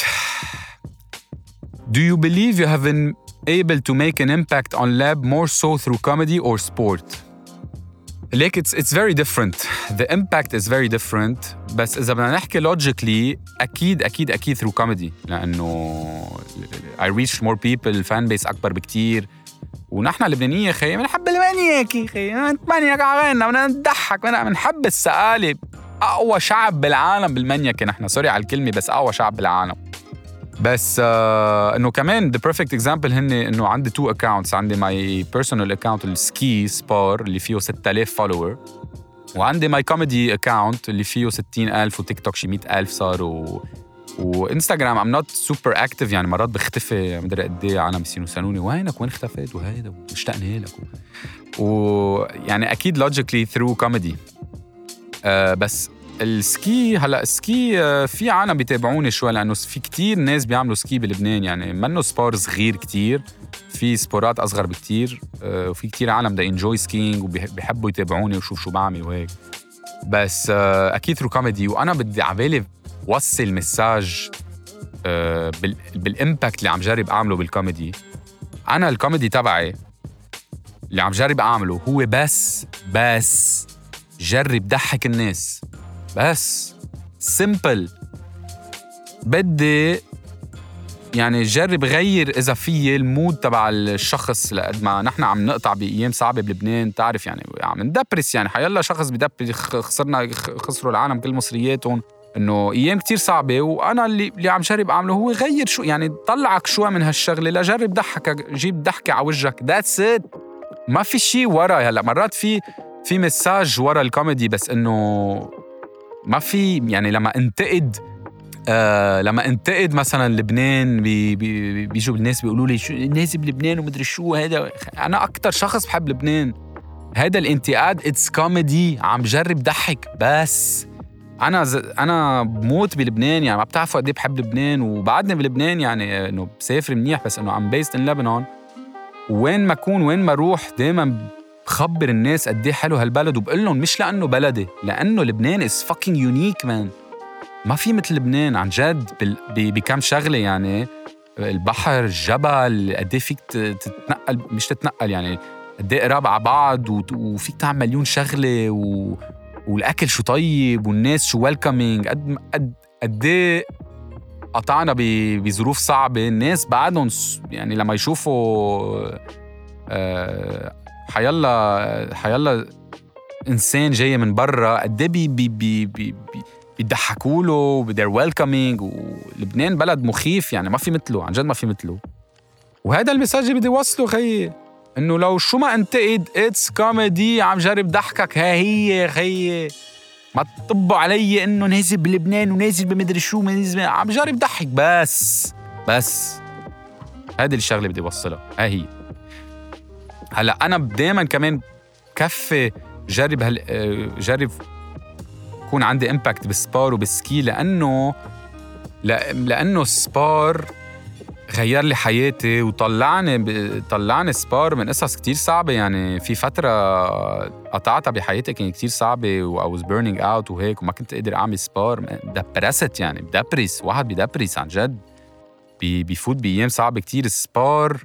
S3: Do you believe you have been able to make an impact on lab more so through comedy or sport? Like it's it's very different. The impact is very different. بس إذا بدنا نحكي logically أكيد أكيد أكيد through comedy لأنه I reach more people fan base أكبر بكتير ونحن اللبنانية خي بنحب المانياك خي المانياك عغينا بدنا نضحك بنحب السقالب. أقوى شعب بالعالم بالمانياك نحن سوري على الكلمة بس أقوى شعب بالعالم. بس آه إنه كمان the perfect example هن إنه عندي two accounts عندي my personal account السكي سبار اللي فيه ستة آلاف follower وعندي my comedy account اللي فيه ستين ألف وتيك توك شي مئة ألف صار و... وإنستغرام I'm not super active يعني مرات بختفي مدري قد إيه عالم بيصيروا يسألوني وينك وين اختفيت وهيدا واشتقنا لك ويعني و... أكيد logically through comedy. آه بس السكي هلا السكي آه في عالم بيتابعوني شوي لأنه في كتير ناس بيعملوا سكي بلبنان يعني منه سبور صغير كتير في سبورات أصغر بكتير آه وفي كتير عالم دا enjoy skiing وبيحبوا يتابعوني وشوف شو بعمل وهيك. بس آه أكيد through comedy وأنا بدي عبالي وصل مساج آه بال بالامباكت اللي عم جرب اعمله بالكوميدي. انا الكوميدي تبعي اللي عم جرب اعمله هو بس بس جرب ضحك الناس بس. سيمبل. بدي يعني جرب غير إذا فيه المود تبع الشخص، لقد ما نحن عم نقطع بأيام صعبة بلبنان، تعرف يعني عم ندبرس، يعني حيالله شخص بدبر خسرنا خسروا العالم كل مصرياتهم، إنه أيام كتير صعبة. وأنا اللي, اللي عم جرب أعمله هو غير شو يعني طلعك شوي من هالشغلة لجرب ضحكك، جيب ضحكة على وجهك. That's it. ما في شي ورا. هلأ مرات في في مساج ورا الكوميدي، بس إنه ما في يعني لما انتقد آه لما انتقد مثلا لبنان بي بي بيجوا الناس بيقولوا لي شو الناس بلبنان ومدري شو هذا. انا اكتر شخص بحب لبنان. هذا الانتقاد اتس كوميدي، عم جرب ضحك بس. انا ز... انا بموت بلبنان، يعني ما بتعرفوا قد ايه بحب لبنان، وبعدني بلبنان يعني انه بسافر منيح، بس انه ام بيست ان لبنان. وين ما اكون وين ما اروح دائما بخبر الناس قد ايه حلو هالبلد، وبقول لهم مش لانه بلدي، لانه لبنان از فاكينج يونيك مان. ما في مثل لبنان عن جد بكم شغله، يعني البحر، الجبل، قد ايه فيك تتنقل، مش تتنقل يعني قد ايه قراب على بعض، وفيك تعمل مليون شغله، و... والاكل شو طيب، والناس شو ويلكمينج. قد قد قد ايه قطعنا بظروف صعبه، الناس بعدهم يعني لما يشوفوا أه حيالله حيالله انسان جاي من برا قد ايه بي بي بي بي بيضحكوا له، they're welcoming. ولبنان بلد مخيف، يعني ما في مثله، عن جد ما في مثله. وهذا المساج اللي بدي وصله خيي، انه لو شو ما انتقد اتس كوميدي، عم جرب ضحكك. ها هي خيي، ما تطبوا علي انه نازل بلبنان ونازل بمدري شو، نازل عم جرب ضحك بس بس. هذه الشغله اللي بدي وصلها، ها هي. هلا انا دائما كمان كفي جرب هال جرب يكون عندي امباكت بالسبار وبالسكي، لانه لانه السبار غير لي حياتي وطلعني طلعني سبار من قصص كتير صعبه. يعني في فتره قطعتها بحياتي كانت كتير صعبه، و I was burning out وهيك، وما كنت قادر اعمل سبار. دبرست يعني، بدبرس واحد بدبرس عن جد، بيفوت بايام صعبه كتير. السبار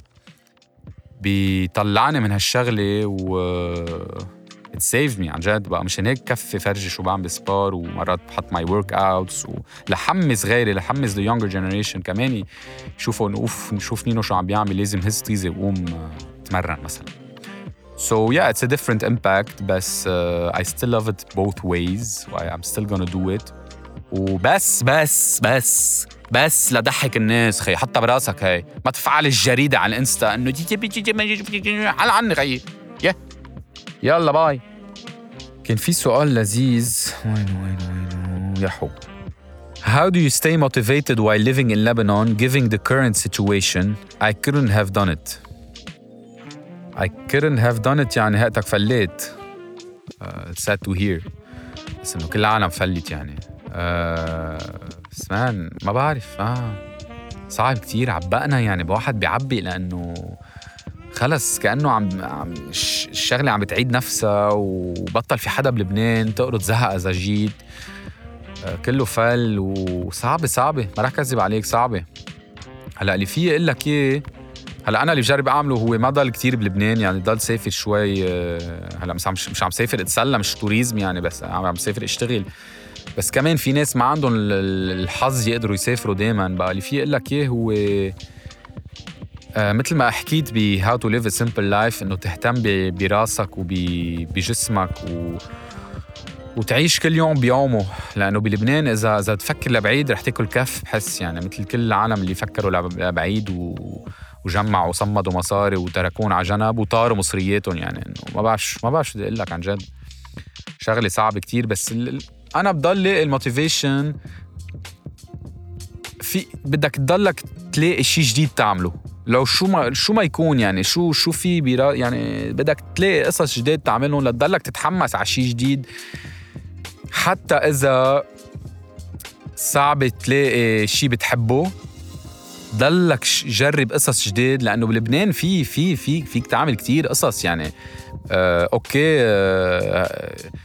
S3: بيطلعني من هالشغله و it saved me عن جد بقى. مشان هيك كفي فرجي شو بعمل سبار، ومرات بحط ماي ورك اوتس ولحمس غيري، لحمس the younger generation كمان يشوفوا انه اوف نشوف نينو شو عم بيعمل، لازم هز طيزه وقوم تمرن مثلا. so yeah it's a different impact، بس uh, I still love it both ways. I'm still gonna do it. وبس بس بس بس لضحك الناس خي. حتى براسك هاي ما تفعل الجريدة على الانستا انه جي جي جي جي حل عني خي. yeah. يلا باي. كان في سؤال لذيذ، وين وين وين يا حب. How do you stay motivated while living in Lebanon given the current situation? I couldn't have done it. I couldn't have done it يعني هاتك فليت. uh, sad to hear. بس إنه كل العالم فلت يعني. بس uh, مان ما بعرف. آه. صعب كتير، عبقنا يعني بواحد بيعبي، لأنه خلص كأنه عم, عم الشغلة عم بتعيد نفسها، وبطل في حدا بلبنان تقرض زهق إذا جيت. آه كله فل وصعبة صعبة، ما رح كذب عليك صعبة. هلأ اللي فيه إقول لك إيه، هلأ أنا اللي بجرب أعمله هو ما ضل كتير بلبنان، يعني ضل سافر شوي. آه هلأ مش عم مش عم سافر اتسلى، مش توريزم يعني، بس عم سافر اشتغل. بس كمان في ناس ما عندهم الحظ يقدروا يسافروا دايما. بقى اللي فيه إقول لك إيه هو آه مثل ما حكيت ب How to live a simple life، إنه تهتم براسك وبجسمك و... وتعيش كل يوم بيومه. لأنه بلبنان إذا إذا تفكر لبعيد رح تاكل كف بحس، يعني مثل كل العالم اللي فكروا لبعيد و... وجمعوا وصمدوا مصاري وتركون على جنب وطاروا مصرياتهم. يعني إنه ما بعرف ما بعرف شو بدي أقول لك، عن جد شغلة صعبة كتير. بس ال... أنا بضل لاقي الموتيفيشن في بدك تضلك تلاقي شيء جديد تعمله، لو شو ما شو ما يكون، يعني شو شو في برا، يعني بدك تلاقي قصص جديد تعملهم لتضلك تتحمس على شيء جديد. حتى إذا صعب تلاقي شيء بتحبه، ضلك جرب قصص جديد، لأنه بلبنان في في في فيك تعمل كتير قصص. يعني آه أوكي آه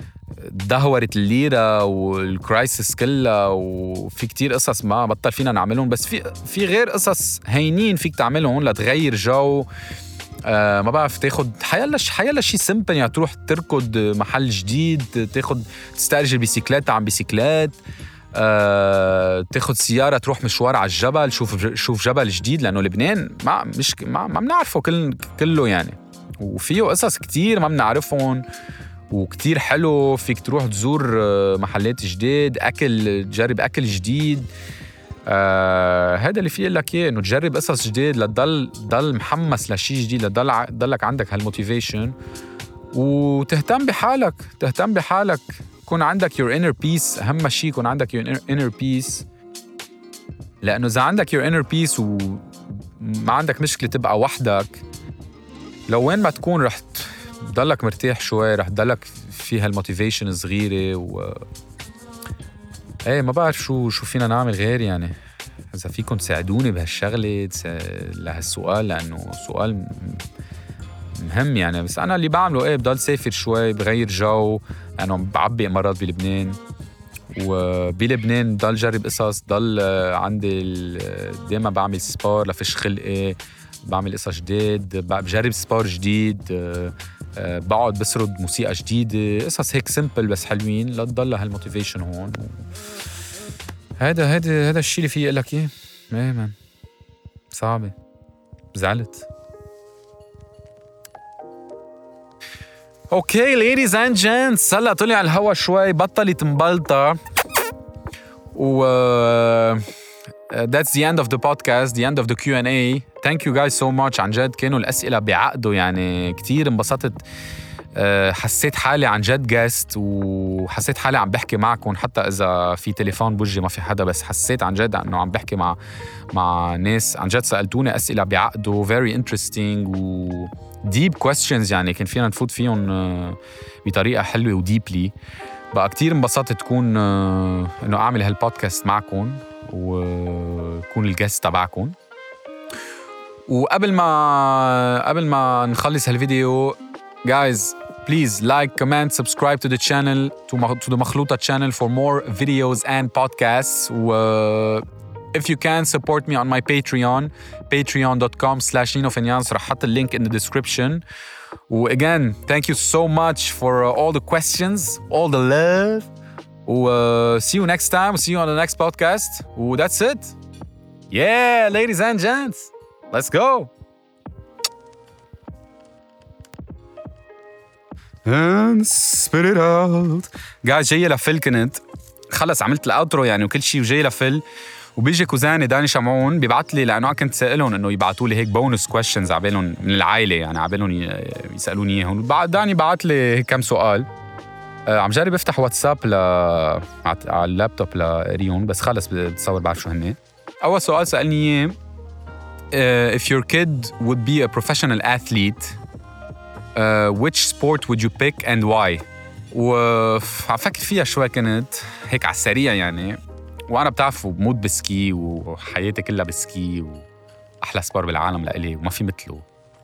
S3: دهورت الليرة والكرايسيس كلها، وفي كتير قصص ما بطل فينا نعملهم، بس في في غير قصص هينين فيك تعملهم لتغير جو. آه ما بعرف، تاخد حيلا حيلا شيء سمبل، يعني تروح تركض محل جديد، تاخد تستأجر بيسيكلات عن بيسيكلات، آه تاخد سيارة تروح مشوار على الجبل، شوف شوف جبل جديد، لأنه لبنان ما مش ما ما بنعرفه كل كله يعني، وفيه قصص كتير ما بنعرفهم وكتير حلو. فيك تروح تزور محلات جديد، أكل تجرب أكل جديد. آه هذا اللي فيه لك إيه، إنه تجرب قصص جديد لتضل ضل محمس لشيء جديد، لتضل ضلك عندك هالموتيفيشن، وتهتم بحالك تهتم بحالك يكون عندك your inner peace. أهم شيء يكون عندك your inner peace، لأنه إذا عندك your inner peace وما عندك مشكلة تبقى وحدك، لو وين ما تكون رح تضلك مرتاح شوي، رح تضلك فيها الموتيفيشن صغيرة. و ايه ما بعرف شو شو فينا نعمل غير، يعني إذا فيكم تساعدوني بهالشغلة تس... لهالسؤال، لأنه سؤال مهم يعني. بس أنا اللي بعمله إيه، بضل سافر شوي، بغير جو، أنا يعني بعبي مرات بلبنان، وبلبنان ضل جرب قصص، ضل عندي دايما بعمل سبار لفش خلقي، بعمل قصص جديد، بجرب سبار جديد، بقعد بسرد موسيقى جديدة، قصص هيك سيمبل بس حلوين لتضل هالموتيفيشن هون. هذا هذا هذا الشيء اللي فيه لك ايه. ايه مان صعبة، زعلت. اوكي ladies and gents، هلا طلع الهوا شوي، بطلت مبلطة، و that's the end of the podcast, the end of the Q and A. Thank you guys so much. عن جد كانوا الأسئلة بعقده، يعني كتير انبسطت. حسيت حالي عن جد guest، وحسيت حالي عم بحكي معكم، حتى إذا في تليفون بوجهي ما في حدا، بس حسيت عن جد أنه عم بحكي مع مع ناس عن جد سألتوني أسئلة بعقده very interesting و deep questions، يعني كان فينا نفوت فيهم بطريقة حلوة و deeply. بقى كتير انبسطت تكون إنه أعمل هالبودكاست معكم وكون الجست تبعكم. وقبل ما قبل ما نخلص هالفيديو guys, please like, comment, subscribe to the channel, to, to the مخلوطة channel for more videos and podcasts. و if you can support me on my Patreon, patreon dot com slash nino fenyans. رح حط اللينك in the description. و again, thank you so much for uh, all the questions, all the love. و uh, see you next time. See you on the next podcast. و that's it. Yeah, ladies and gents, let's go. And spit it out. guys, جاي لفل كنت خلص عملت الاوترو يعني وكل شيء، وجاي لفل، وبيجي كوزاني داني شمعون بيبعت لي، لانه كنت سائلهم انه يبعتوا لي هيك بونس كويشنز عبالهم من العائله، يعني عبالهم يسالوني اياهم. بعد داني بعت لي كم سؤال. آه عم جرب افتح واتساب ل على اللابتوب لريون، بس خلص بتصور بعرف شو هن. اول سؤال سالني اياه uh, if your kid would be a professional athlete, uh, which sport would you pick and why? وعم فكر فيها شوي كنت هيك على السريع يعني، وانا بتعرفوا بموت بسكي وحياتي كلها بسكي، واحلى سبار بالعالم لإلي وما في مثله.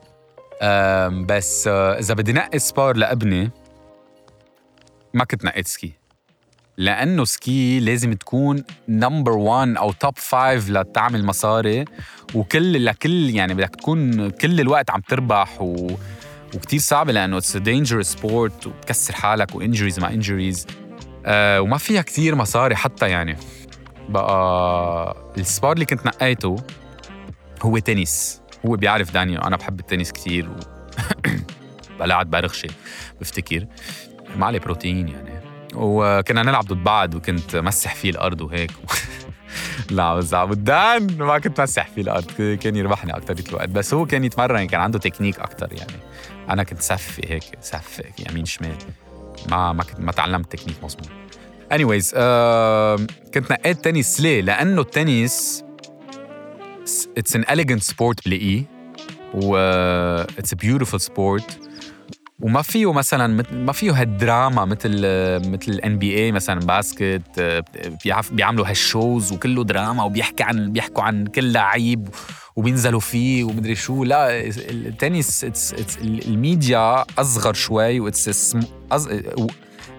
S3: بس اذا بدي نقي سبار لابني ما كنت نقيت سكي، لانه سكي لازم تكون نمبر وان او توب فايف لتعمل مصاري، وكل لكل يعني بدك تكون كل الوقت عم تربح، و وكتير صعبة لأنه it's a dangerous sport، وبتكسر حالك وإنجريز مع إنجريز، أه وما فيها كتير مصاري حتى. يعني بقى السبار اللي كنت نقيته هو تنس. هو بيعرف داني أنا بحب التنس كتير، و بلعب برغشة بفتكر ما عليه بروتين يعني، وكنا نلعب ضد بعض، وكنت مسح فيه الأرض وهيك لا بس عبدان ما كنت مسح فيه الأرض، كان يربحني أكتر الوقت، بس هو كان يتمرن، كان عنده تكنيك أكتر يعني. أنا كنت سف هيك سف يمين شمال، ما ما كنت ما تعلمت تكنيك مظبوط. anyways uh, كنت نقيت تنس ليه؟ لأنه التنس it's an elegant sport بلاقيه، و it's a beautiful sport، وما فيه مثلا ما فيه هالدراما مثل مثل الان بي اي مثلا باسكت، بيعملوا هالشوز وكله دراما، وبيحكي عن بيحكوا عن كل لعيب وبينزلوا فيه ومدري شو. لا التنس it's, it's الميديا اصغر شوي، واتس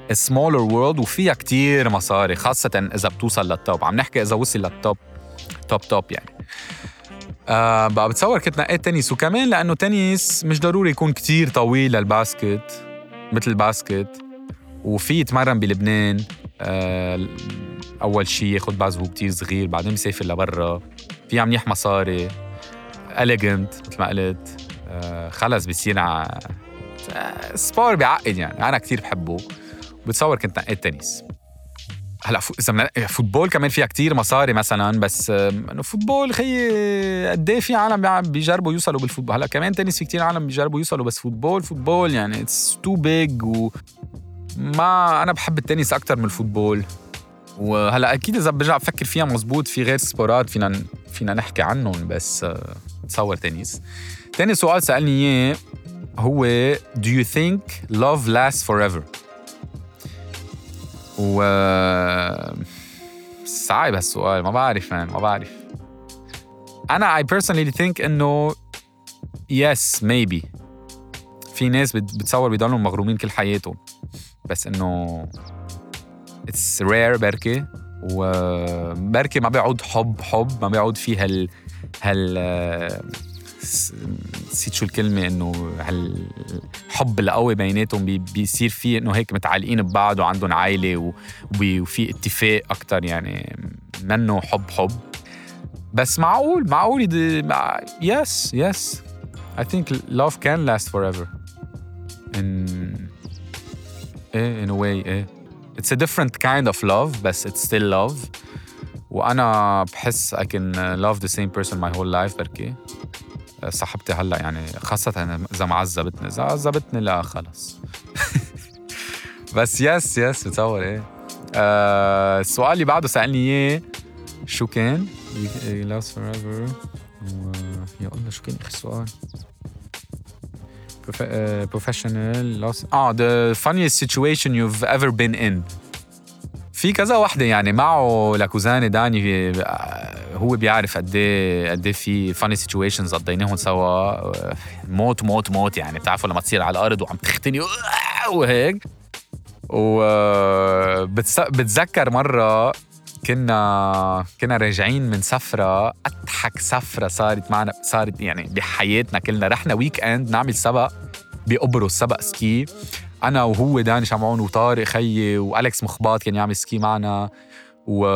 S3: smaller world وفيها كتير مصاري، خاصة إذا بتوصل للتوب. عم نحكي إذا وصل للتوب توب توب يعني. آه بقى بتصور كنت نقيت تنس، وكمان لأنه تنس مش ضروري يكون كتير طويل للباسكت مثل الباسكت، وفي يتمرن بلبنان. آه أول شي ياخد بعض هو كتير صغير، بعدين بيسافر لبرا، في عم منيح مصاري، elegant مثل ما قلت. آه خلص بيصير ع... آه سبور بيعقد يعني، أنا كتير بحبه. بتصور كنت نقيت تنس. هلا اذا فوتبول كمان فيها كتير مصاري مثلا، بس انه فوتبول خي قد ايه في عالم بيجربوا يوصلوا بالفوتبول. هلا كمان تنس في كتير عالم بيجربوا يوصلوا، بس فوتبول فوتبول يعني اتس تو بيج. وما انا بحب التنس اكتر من الفوتبول. وهلا اكيد اذا برجع بفكر فيها مزبوط في غير سبورات فينا فينا نحكي عنهم، بس تصور تنس. تاني سؤال سألني اياه هو do you think love lasts forever؟ و صعب هالسؤال، ما بعرف man. ما بعرف. أنا I personally think إنه yes maybe. في ناس بتصور بيضلوا مغرومين كل حياتهم، بس إنه it's rare بركي. وبركي ما بيعود حب حب ما بيعود فيه هال هال نسيت شو الكلمة، إنه هالحب القوي بيناتهم بي بيصير فيه إنه هيك متعلقين ببعض وعندهم عائلة وفي اتفاق أكتر يعني منه حب حب. بس معقول معقول مع... yes yes I think love can last forever in in a way. eh. It's a different kind of love but it's still love. وأنا بحس I can love the same person my whole life. بركي صاحبتي هلا يعني خاصة إذا ما عذبتني إذا عذبتني لا خلص. بس يس يس بتصور إيه. آه السؤال اللي بعده سألني إياه شو كان؟ last forever. يا الله شو كان آخر سؤال؟ professional loss. آه the funniest situation you've ever been in. في كذا واحدة يعني معه لكوزاني داني، هو بيعرف قد ايه قد ايه في funny situations قضيناهم سوا. موت موت موت يعني بتعرفوا لما تصير على الأرض وعم تختني وهيك. وبتذكر مرة كنا كنا راجعين من سفرة، أضحك سفرة صارت معنا صارت يعني بحياتنا كلنا. رحنا ويك اند نعمل سبق بقبرص، سبق سكي، أنا وهو داني شمعون وطارق خيي وأليكس مخباط كان يعمل سكي معنا، و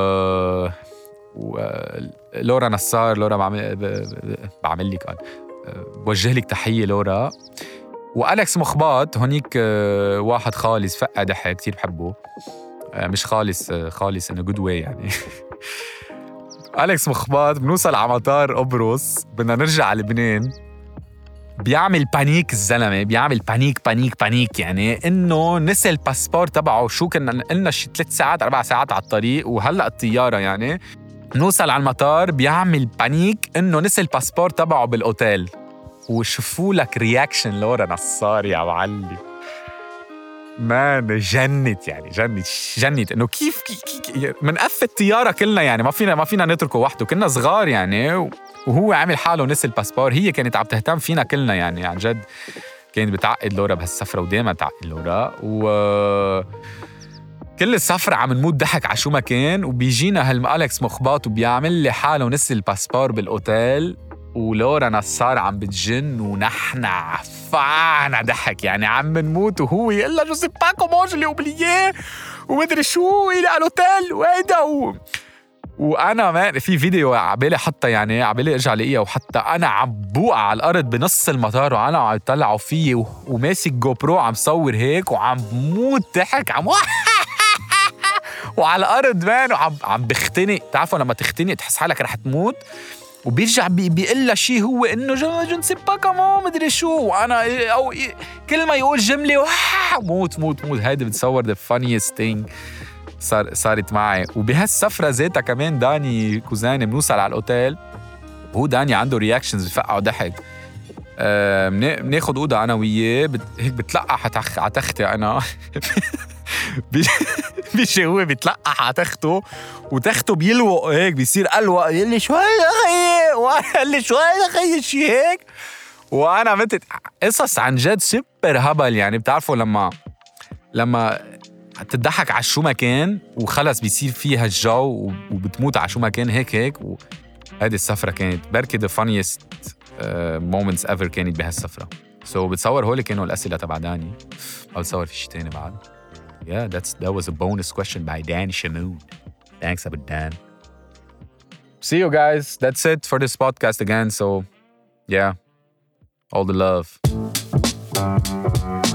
S3: ولورا نصار. لورا بعمل بعمل لك بوجه لك تحية لورا. وأليكس مخباط هونيك واحد خالص فقع ضحك كتير بحبه، مش خالص خالص إنه good way يعني. أليكس مخباط بنوصل على مطار قبرص بدنا نرجع على لبنان، بيعمل بانيك الزلمة، بيعمل بانيك بانيك بانيك يعني إنه نسي الباسبور تبعه. شو كنا قلنا شي ثلاث ساعات أربع ساعات على الطريق وهلأ الطيارة يعني. نوصل على المطار بيعمل بانيك إنه نسي الباسبور تبعه بالأوتيل. وشوفوا لك رياكشن لورا نصار يا معلم، مان جنت يعني جنت جنت إنه كيف كي من قف الطيارة كلنا يعني ما فينا ما فينا نتركه وحده، كنا صغار يعني. وهو عامل حاله نسي الباسبور. هي كانت عم تهتم فينا كلنا يعني عن جد، كانت بتعقد لورا بهالسفرة ودايما تعقد لورا. و كل السفرة عم نموت ضحك على شو ما كان. وبيجينا هالأليكس مخباط وبيعمل لي حاله نسي الباسبور بالأوتيل، ولورا نصار عم بتجن ونحن عفانا ضحك يعني عم نموت. وهو يقول له جو سي با كومون جو لي اوبلييه ومدري شو الى الاوتيل وهيدا. و... وانا ما في فيديو عبالي حتى يعني عبالي ارجع لاقيها، وحتى انا عم بوقع على الارض بنص المطار وانا عم يطلعوا فيي و... وماسك جو برو عم صور هيك وعم بموت ضحك عم وعلى الارض مان وعم عم بختنق. تعرفوا لما تختنق تحس حالك رح تموت، وبيرجع بي بيقول له شيء هو انه جو نسي با كمان مدري شو، وانا او كل ما يقول جمله موت موت موت. هيدي بتصور the funniest thing صار صارت معي. وبهالسفره ذاتها كمان داني كوزاني بنوصل على الاوتيل وهو داني عنده رياكشنز بفقعوا ضحك. أه بناخد اوضه انا وياه بت... هيك بتلقح على تختي انا بيجي هو بيتلقح على تخته وتخته بيلوق هيك بيصير قلوق، يقول لي شو هيدا خيي، وقال لي شو هيدا خيي شي هيك. وانا متت قصص عن جد سوبر هبل يعني. بتعرفوا لما لما تضحك على شو ما كان وخلص بيصير فيها الجو وبتموت على شو ما كان هيك هيك. وهذه السفرة كانت بركي the funniest uh, moments ever كانت بهالسفرة. So بتصور هول كانوا الأسئلة تبع داني. أو بتصور في شي تاني بعد. Yeah, that's that was a bonus question by Dan Shamoon. Thanks, Abu Dan. See you guys. That's it for this podcast again. So, yeah, all the love.